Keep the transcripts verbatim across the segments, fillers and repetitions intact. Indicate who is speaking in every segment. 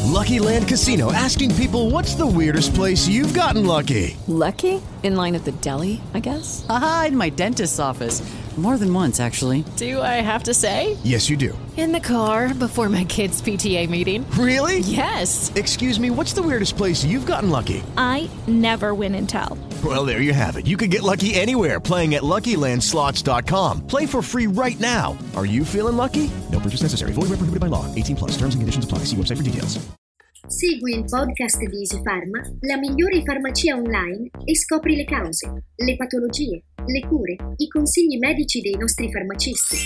Speaker 1: Lucky Land Casino, asking people, what's the weirdest place you've gotten lucky?
Speaker 2: Lucky? In line at the deli, I guess?
Speaker 3: Aha, in my dentist's office. More than once, actually.
Speaker 2: Do I have to say?
Speaker 1: Yes, you do.
Speaker 2: In the car before my kids' P T A meeting.
Speaker 1: Really?
Speaker 2: Yes.
Speaker 1: Excuse me, what's the weirdest place you've gotten lucky?
Speaker 4: I never win and tell.
Speaker 1: Well, there you have it. You can get lucky anywhere, playing at Lucky Land Slots dot com. Play for free right now. Are you feeling lucky? No purchase necessary. Void where prohibited by law. eighteen plus. Terms and conditions apply. See website for details.
Speaker 5: Segui il podcast di EasyPharma, la migliore farmacia online, e scopri le cause, le patologie, le cure, i consigli medici dei nostri farmacisti.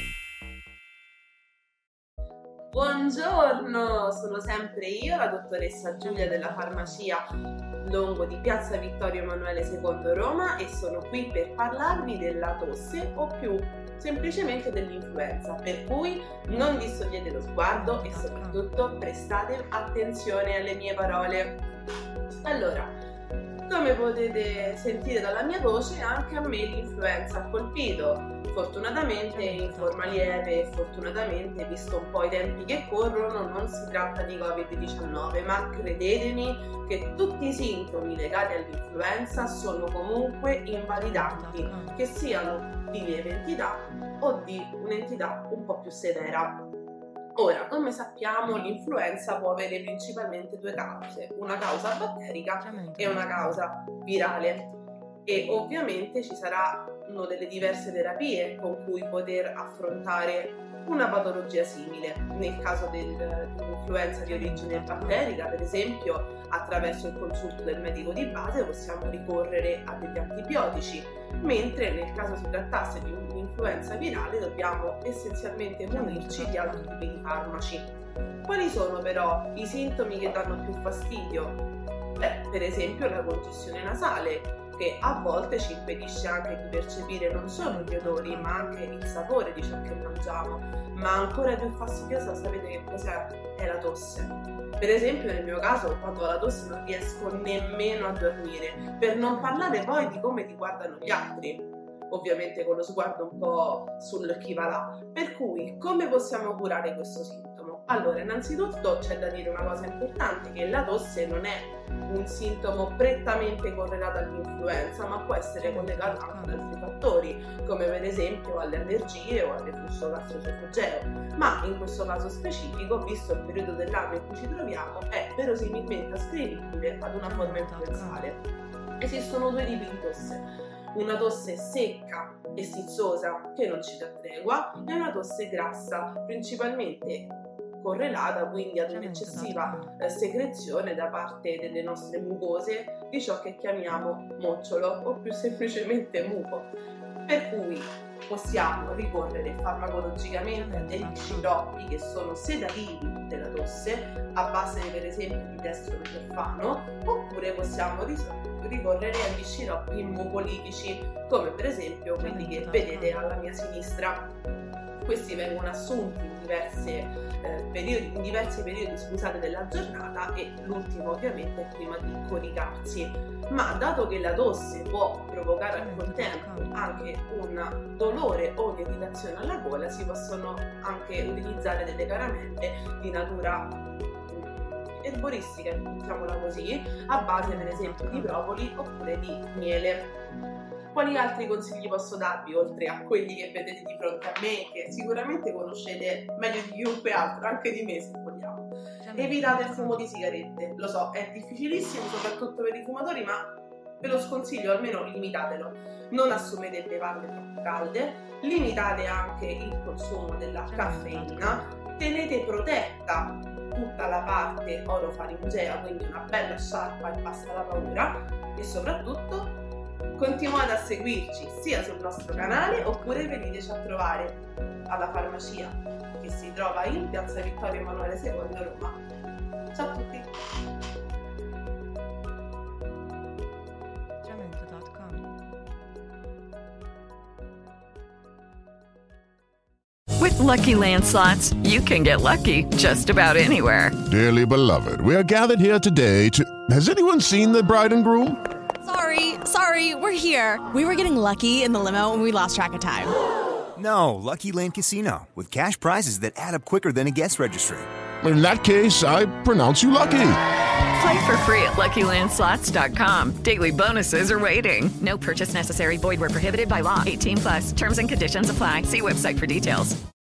Speaker 6: Buongiorno, sono sempre io, la dottoressa Giulia della farmacia Longo di Piazza Vittorio Emanuele secondo Roma, e sono qui per parlarvi della tosse, o più semplicemente dell'influenza, per cui non distogliete lo sguardo e soprattutto prestate attenzione alle mie parole. Allora, come potete sentire dalla mia voce, anche a me l'influenza ha colpito, fortunatamente in forma lieve e fortunatamente, visto un po' i tempi che corrono, non si tratta di covid diciannove, ma credetemi che tutti i sintomi legati all'influenza sono comunque invalidanti, che siano di lieve entità o di un'entità un po' più severa. Ora, come sappiamo, l'influenza può avere principalmente due cause, una causa batterica e una causa virale, e ovviamente ci saranno delle diverse terapie con cui poter affrontare una patologia simile. Nel caso del, dell'influenza di origine batterica, per esempio, attraverso il consulto del medico di base possiamo ricorrere a degli antibiotici, mentre nel caso si trattasse di un'influenza virale dobbiamo essenzialmente munirci di altri tipi di farmaci. Quali sono però i sintomi che danno più fastidio? Beh, per esempio la congestione nasale, che a volte ci impedisce anche di percepire non solo gli odori ma anche il sapore di ciò che mangiamo, ma ancora più fastidiosa, sapete che cos'è? È la tosse. Per esempio nel mio caso, quando ho la tosse non riesco nemmeno a dormire, per non parlare poi di come ti guardano gli altri, ovviamente con lo sguardo un po' sul chi va là. Per cui come possiamo curare questo sintomo? Allora, innanzitutto c'è da dire una cosa importante, che la tosse non è un sintomo prettamente correlato all'influenza, ma può essere collegato anche ad altri fattori, come per esempio alle allergie o al reflusso gastroesofageo, ma in questo caso specifico, visto il periodo dell'anno in cui ci troviamo, è verosimilmente ascrivibile ad una forma influenzale. Esistono due tipi di tosse: una tosse secca e sizzosa che non ci dà tregua, e una tosse grassa, principalmente correlata quindi ad un'eccessiva eh, secrezione da parte delle nostre mucose di ciò che chiamiamo mocciolo o più semplicemente muco. Per cui possiamo ricorrere farmacologicamente a degli sciroppi che sono sedativi della tosse, a base per esempio di dextrometorfano, oppure possiamo ricorrere agli sciroppi mucolitici, come per esempio quelli che vedete alla mia sinistra. Questi vengono assunti in, diverse, eh, periodi, in diversi periodi scusate, della giornata, e l'ultimo ovviamente è prima di coricarsi. Ma dato che la tosse può provocare al contempo anche un dolore o un'irritazione alla gola, si possono anche utilizzare delle caramelle di natura erboristica, diciamola così, a base per esempio di propoli oppure di miele. Quali altri consigli posso darvi, oltre a quelli che vedete di fronte a me, che sicuramente conoscete meglio di chiunque altro, anche di me se vogliamo? Evitate il fumo di sigarette, lo so, è difficilissimo soprattutto per i fumatori, ma ve lo sconsiglio, almeno limitatelo. Non assumete bevande troppo calde, limitate anche il consumo della caffeina, tenete protetta tutta la parte orofaringea, quindi una bella sciarpa e basta la paura, e soprattutto continuate a seguirci sia sul nostro canale oppure veniteci a trovare alla farmacia che si trova in Piazza Vittorio Emanuele secondo Roma. Ciao a tutti!
Speaker 7: With Lucky Land Slots, you can get lucky just about anywhere.
Speaker 8: Dearly beloved, we are gathered here today to... Has anyone seen the bride and groom?
Speaker 9: Sorry, sorry, we're here. We were getting lucky in the limo and we lost track of time.
Speaker 10: No, Lucky Land Casino, with cash prizes that add up quicker than a guest registry.
Speaker 8: in that case, I pronounce you lucky.
Speaker 7: Play for free at Lucky Land Slots dot com. Daily bonuses are waiting. No purchase necessary. Void where prohibited by law. eighteen plus. Terms and conditions apply. See website for details.